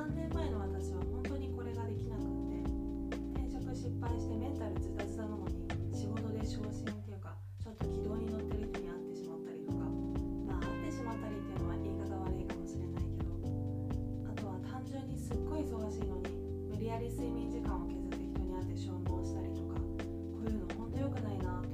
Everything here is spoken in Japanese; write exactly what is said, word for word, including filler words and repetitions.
さんねんまえの私は本当にこれができなくって転職失敗してメンタルズタズタなのに仕事で昇進っていうかちょっと軌道に乗ってる人に会ってしまったりとか、まあ会ってしまったりっていうのは言い方悪いかもしれないけど、あとは単純にすっごい忙しいのに無理やり睡眠時間を削って人に会って消耗したりとか、こういうの本当良くないなと